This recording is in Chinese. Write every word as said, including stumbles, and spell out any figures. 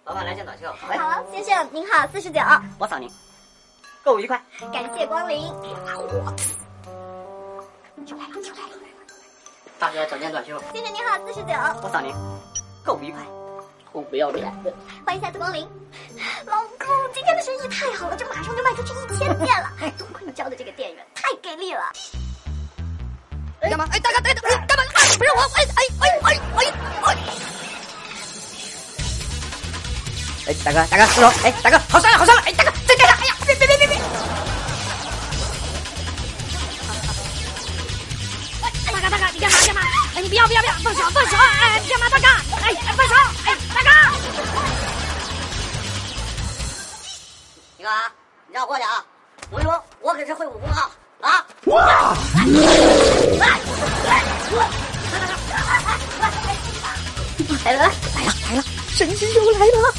老板来件短袖。 喂，好，先生您好，四十九。 我扫您，购物愉快。 感谢光临。 就来了，就来了。大哥找件短袖。 先生您好，四十九。 我扫您，购物愉快。臭不要脸的。 欢迎下次光临。老公，今天的生意太好了，这马上就卖出去一千件了。哎，多亏你教的这个店员太给力了。 哎，干嘛？哎，大哥，大哥，哎，干嘛？哎，不是我，哎哎哎哎哎哎！ 哎，大哥，大哥，住手！哎，大哥，好伤了，好伤了！哎，大哥，再干上！哎呀，别别别别别！ 大哥，大哥，你干嘛干嘛？哎，你不要不要不要，放手放手！哎，你干嘛，大哥？哎哎，放手！哎，大哥！ 你看啊，你让我过去啊！我跟你说，我可是会武功啊！啊！ 哇！ 来了来了来了，神师又来了！